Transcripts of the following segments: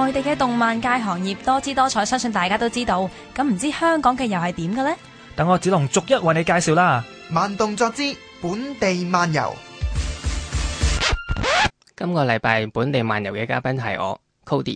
內地嘅動漫界行業多姿多彩，相信大家都知道。咁唔知香港嘅又係點嘅呢？ 等我子龍逐一為你介紹啦。 慢動作之本地漫遊。 今個禮拜本地漫遊嘅嘉賓係我 Cody。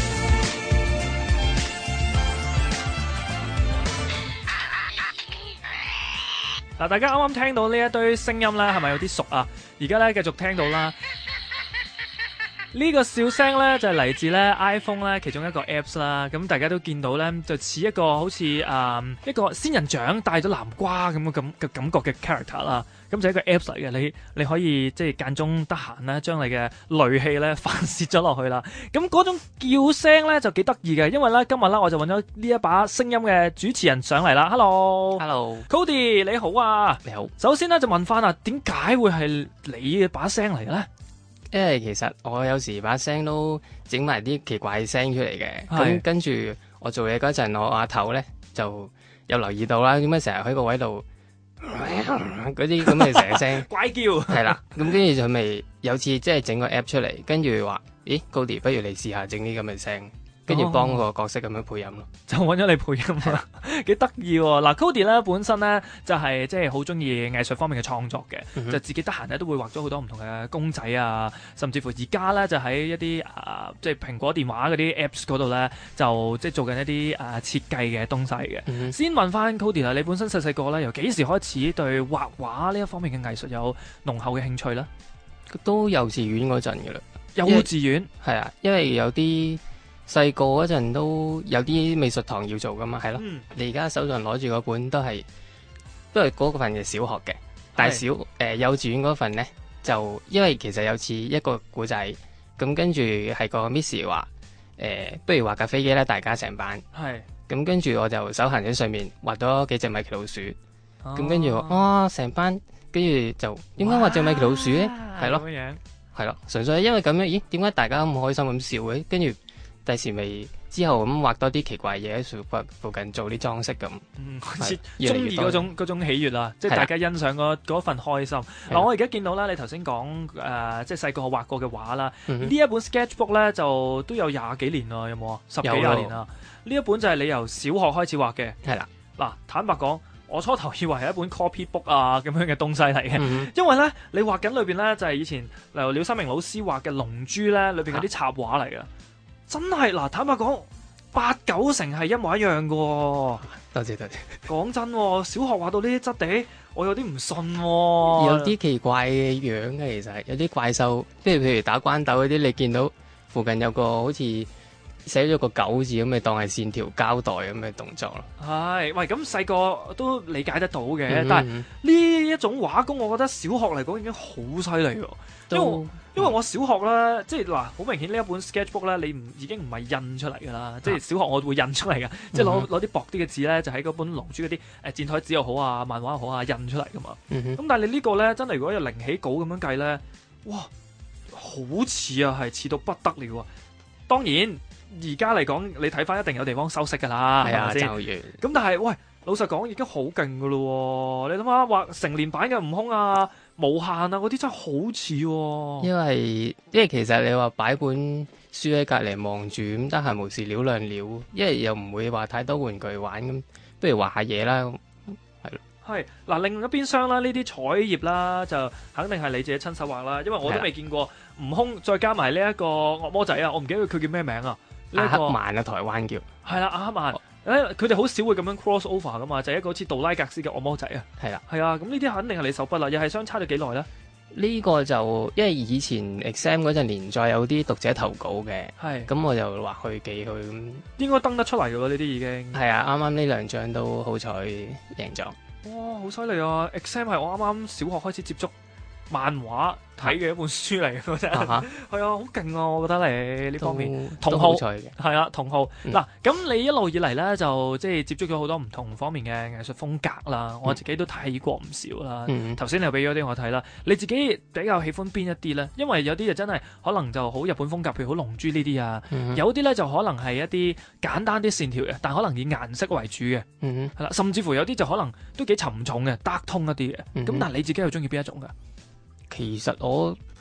嗱，大家啱啱聽到呢一堆聲音咧，係咪有啲熟啊？而家咧繼續聽到啦。呢個笑聲咧就係嚟自咧 iPhone 咧其中一個 Apps 啦，咁大家都見到咧就似一個好似一個仙人掌帶咗南瓜咁嘅感覺嘅 character 啦，咁就係一個 Apps 嚟嘅，你可以即係間中得閒咧將你嘅戾氣咧發泄咗落去啦，咁嗰種叫聲咧就幾得意嘅，因為咧今日咧我就揾咗呢一把聲音嘅主持人上嚟啦。Hello，Cody 你好啊。 你好。 首先咧就問翻啊，點解會係你嘅把聲嚟嘅咧？ 因為其實我有時把聲都整埋啲奇怪聲出嚟嘅，咁跟住我做嘢嗰陣，我阿頭咧就有留意到啦，點解成日喺個位度嗰啲咁嘅成日聲怪叫係啦，咁跟住就咪有次即係整個 app 出嚟，跟住話咦Cody，不如你試下整啲咁嘅聲，跟住幫個角色咁樣配音咯， 就揾咗你配音啦，幾得意喎！嗱，Cody 咧本身咧就係即係好中意藝術方面嘅創作嘅，就自己得閒咧都會畫咗好多唔同嘅公仔啊，甚至乎而家咧就喺一啲即係蘋果電話嗰啲 Apps 嗰度咧，就即係做緊一啲設計嘅東西嘅。先問翻 Cody 啦，你本身細細個咧由幾時開始對畫畫呢一方面嘅藝術有濃厚嘅興趣咧？ 都幼稚園嗰陣嘅啦。 幼稚園係啊，因為有啲細個嗰陣都有啲美術堂要做噶嘛，係咯。你而家手上攞住嗰本都係嗰份嘅小學嘅，但係幼稚園嗰份咧就因為其實有似一個古仔，咁跟住係個 Miss 話不如畫架飛機啦，大家成班。係。咁跟住我就手閒喺上面畫咗幾隻米奇老鼠，咁跟住哇成班，跟住就點解畫隻米奇老鼠咧？係咯，係咯，純粹係因為咁樣。咦？點解大家咁開心咁笑嘅？跟住。第時咪之後咁畫多啲奇怪嘢喺附近做啲裝飾咁， 開始中意嗰種喜悅啦，即係大家欣賞嗰份開心。嗱，我而家見到啦，你頭先講即係細個畫過嘅畫啦，呢一本 sketchbook 咧就都有廿幾年啦，有冇啊？10幾廿年啦。呢一本就係你由小學開始畫嘅。係啦。嗱，坦白講，我初頭以為係一本 copy book 啊咁樣嘅東西嚟嘅，因為咧你畫緊裏邊咧就係以前例如廖三明老師畫嘅龍珠咧裏邊嗰啲插畫嚟嘅。真係嗱，坦白講，8、9成係一模一樣嘅。多謝。講真，小學畫到呢啲質地，我有啲唔信喎。 有啲奇怪嘅樣嘅，其實有啲怪獸，譬如打關鬥嗰啲，你見到附近有個好似寫咗個狗字咁，咪當係線條膠帶咁嘅動作咯。係， 喂，咁細個都理解得到嘅，但係呢一種畫工，我覺得小學嚟講已經好犀利喎。因為我小學咧，即係嗱，好明顯呢一本 sketchbook 咧，已經唔係印出嚟㗎啦。即係小學我會印出嚟㗎，即係攞啲薄啲嘅紙咧，就喺嗰本龍珠嗰啲箭台紙又好啊，漫畫又好啊，印出嚟㗎嘛。咁但係你呢個咧，真係如果有零起稿咁樣計咧，哇，好似啊，係似到不得了啊！當然而家嚟講，你睇翻一定有地方修飾㗎啦，係咪先？咁但係喂，老實講已經好勁㗎咯喎！你諗下畫成年版嘅悟空啊！無限啊！嗰啲真係好似喎，因為其實你話擺本書喺隔離望住咁，得閒無事撩兩撩，因為又唔會話太多玩具玩咁，不如畫下嘢啦，係咯。係嗱，另一邊廂啦，呢啲彩頁啦，就肯定係你自己親手畫啦，因為我都未見過悟空，再加埋呢一個惡魔仔啊，我唔記得佢叫咩名啊，阿克曼啊，台灣叫係啦，阿克曼。佢哋好少會咁樣 cross over 噶嘛，就係一個好似杜拉格斯嘅惡魔仔啊。係啦，係啊，咁呢啲肯定係你手筆啦，又係相差咗幾耐咧？呢個就因為以前 exam 嗰陣連載有啲讀者投稿嘅，係咁我就畫去寄去咁，應該登得出嚟噶喎，呢啲已經係啊，啱啱呢兩張都好彩贏咗。哇，好犀利啊 ！exam 係我啱啱小學開始接觸漫畫睇嘅一本書嚟嘅真係，係啊，好勁啊！我覺得你呢方面同好係啊，同好嗱。咁你一路以嚟咧就即係接觸咗好多唔同方面嘅藝術風格啦。我自己都睇過唔少啦。頭先你又俾咗啲我睇啦。你自己比較喜歡邊一啲咧？因為有啲就真係可能就好日本風格，譬如好龍珠呢啲啊。有啲咧就可能係一啲簡單啲線條嘅，但可能以顏色為主嘅。係啦，甚至乎有啲就可能都幾沉重嘅，dark tone一啲嘅。咁但係你自己又中意邊一種㗎？其實我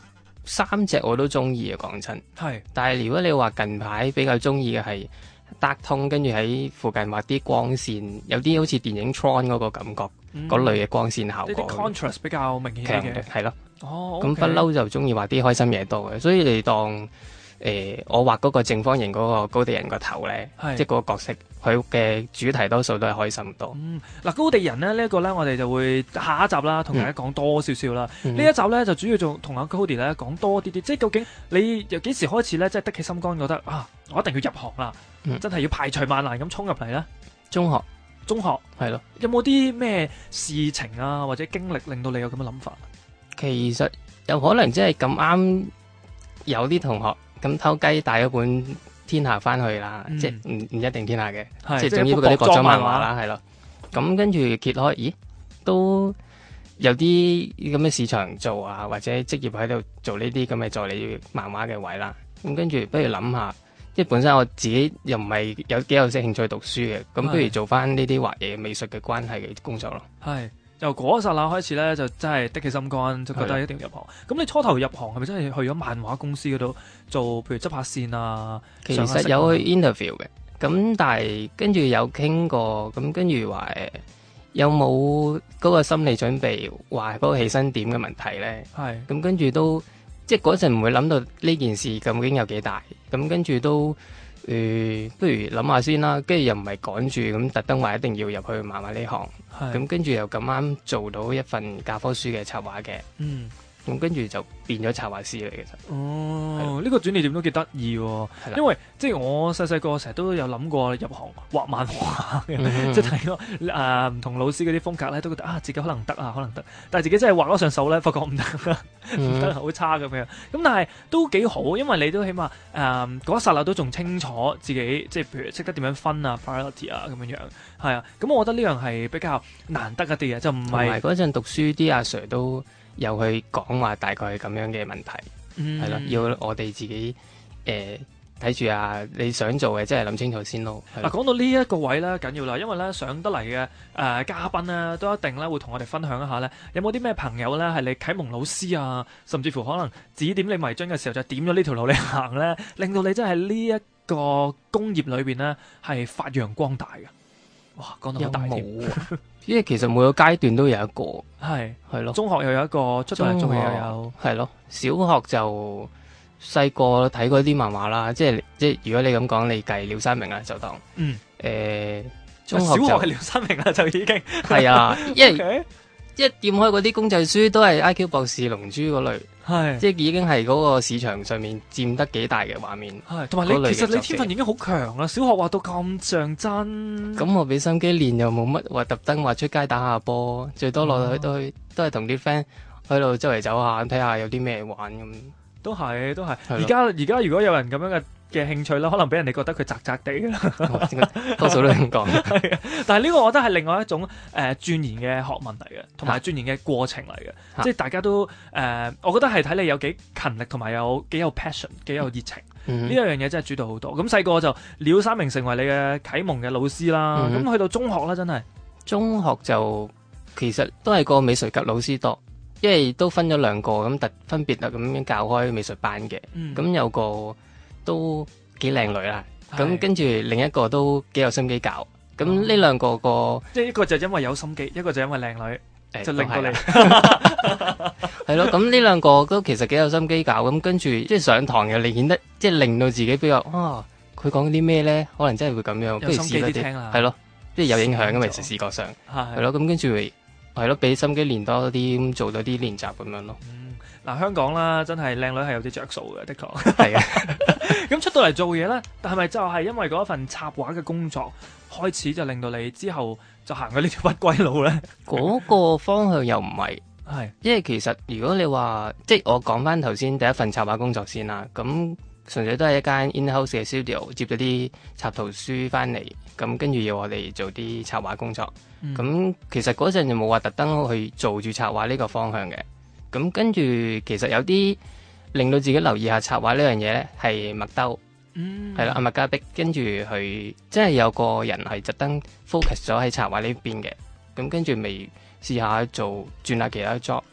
三隻我都中意嘅，講真。 係， 但係如果你話近排比較中意嘅係Dark Tone，跟住喺附近畫啲光線，有啲好似電影 Tron 嗰個感覺，嗰類嘅光線效呢啲果 contrast 比較明顯強啲嘅。 係咯。 哦， 咁不嬲就中意畫啲開心嘢多嘅，所以你當我畫嗰個正方形嗰個高地人個頭咧， 係即係嗰個角色，佢嘅主題多數都係開心多。 嗱，高地人咧呢一個咧，我哋就會下一集啦，同大家講多少少啦。呢一集咧就主要仲同阿 Cody 咧講多啲啲，即係究竟你由幾時開始咧，即係得起心肝覺得啊，我一定要入行啦，真係要排除萬難咁衝入嚟咧。 中學係咯， 有冇啲咩事情啊或者經歷令到你有咁嘅諗法？ 其實有可能即係咁啱有啲同學咁偷雞帶咗本天下翻去啦，即係唔一定天下嘅，即係總之嗰啲國裝漫畫啦，係咯。咁跟住揭開，咦，都有啲咁嘅市場做啊，或者職業喺度做呢啲咁嘅助理漫畫嘅位啦。咁跟住不如諗下，即係本身我自己又唔係有幾有興趣讀書嘅，咁不如做翻呢啲畫嘢美術嘅關係嘅工作咯。 係。由嗰一剎那開始咧，就真係的起心肝，就覺得一定要入行。咁你初頭入行係咪真係去咗漫畫公司嗰度做，譬如執下線啊？ 其實有去 interview 嘅，咁但係跟住有傾過，咁跟住話有冇嗰個心理準備，話嗰個起薪點嘅問題咧？ 係。咁跟住都即係嗰陣唔會諗到呢件事究竟有幾大，咁跟住都。不如諗下先啦，跟住又唔係趕住咁特登話一定要入去漫畫呢行，咁跟住又咁啱做到一份教科書嘅插畫嘅，咁跟住就變咗插畫師嚟。其實哦，呢個轉捩點都幾得意喎，因為即係我細細個成日都有諗過入行畫漫畫嘅，即係睇過唔同老師嗰啲風格咧，都覺得啊自己可能得啊，可能得，但係自己真係畫咗上手咧，發覺唔得，唔得好差咁樣。咁但係都幾好，因為你都起碼嗰一剎那都仲清楚自己，即係譬如識得點樣分啊 priority 啊咁樣樣，係啊。咁我覺得呢樣係比較難得一啲嘅，就唔係嗰陣讀書啲阿 Sir 都有去講話大概係咁樣嘅問題，係咯，要我哋自己睇住你想做嘅，即係諗清楚先咯。 嗱，講到呢一個位咧緊要啦，因為咧上得嚟嘅嘉賓咧都一定咧會同我哋分享一下咧，有冇啲咩朋友咧係你啟蒙老師啊，甚至乎可能指點你迷津嘅時候就點咗呢條路你行咧，令到你真係呢一個工業裏邊咧係發揚光大嘅。哇，講到好大添， 因為其實每個階段都有一個，係咯， 中學又有一個，出到嚟做嘢又有， 係咯，小學就細個睇過啲漫畫啦，即係如果你咁講，你計廖三明啦，就當中學小學係廖三明啦，就已經係啊，因為一掂開嗰啲公仔書都係 IQ 博士、龍珠嗰類。即係已經係嗰個市場上面佔得幾大嘅畫面， 同埋其實你天分已經好強啦，小學畫到咁像真。 咁我俾心機練又冇乜話特登話出街打下波，最多落去都係同啲 friend 喺度周圍走下，睇下有啲咩玩咁。 都係。而家如果有人咁樣嘅興趣啦，可能俾人哋覺得佢宅宅地啦， 多數都咁講。 但係呢個我覺得係另外一種鑽研嘅學問嚟嘅，同埋鑽研嘅過程嚟嘅，即係大家都我覺得係睇你有幾勤力，同埋有幾有 passion， 幾有熱情。呢一樣嘢真係主導好多。咁細個就廖三明成為你嘅啟蒙嘅老師啦。咁去到中學啦，真係中學就其實都係個美術級老師多。因為都分咗兩個咁分別咁樣教開美術班嘅，咁有個都幾靚女啦，咁跟住另一個都幾有心機教，咁呢兩個即係一個就因為有心機，一個就因為靚女，就令到你係咯，咁呢兩個都其實幾有心機教，咁跟住即係上堂又顯得即係令到自己比較佢講啲咩咧，可能真係會咁樣， 有心機啲聽啦， 係咯，即係有影響嘅，其實視覺上係咯，咁跟住係咯，俾心機練多啲，咁做多啲練習咁樣咯。 嗱，香港啦，真係靚女係有啲着數嘅，的確係啊。 咁出到嚟做嘢咧，但係咪就係因為嗰一份插畫嘅工作開始，就令到你之後就行咗呢條不歸路咧？ 嗰個方向又唔係，因為其實如果你話即係我講翻頭先第一份插畫工作先啦，咁純粹都係一間 in-house 嘅 studio 接咗啲插圖書翻嚟，咁跟住要我哋做啲插畫工作。咁其實嗰陣就冇話特登去做住插畫呢個方向嘅。咁跟住其實有啲令到自己留意下插畫呢樣嘢咧，係麥兜，係啦，阿麥嘉碧，跟住佢即係有個人係特登 focus 咗喺插畫呢邊嘅。咁跟住未試下轉下其他 job，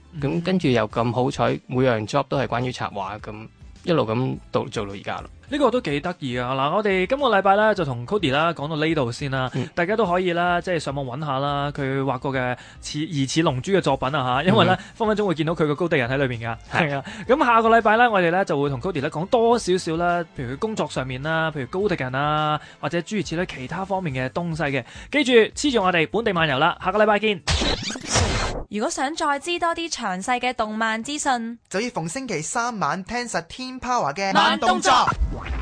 咁跟住又咁好彩，每樣 job 都係關於插畫，咁一路咁做到而家咯。 呢個都幾得意啊！嗱，我哋今個禮拜咧就同 Cody 啦講到呢度先啦，大家都可以啦，即係上網揾下啦，佢畫過嘅疑似龍珠嘅作品啊嚇，因為咧分分鐘會見到佢個高地人喺裏邊㗎，係啊。咁下個禮拜咧，我哋咧就會同 Cody 咧講多少少啦，譬如佢工作上面啦，譬如高地人啊，或者諸如此類其他方面嘅東西嘅。記住黐住我哋本地漫遊啦，下個禮拜見。 如果想再知多啲詳細嘅動漫資訊， 就要逢星期三晚聽實天 Power 嘅慢動作。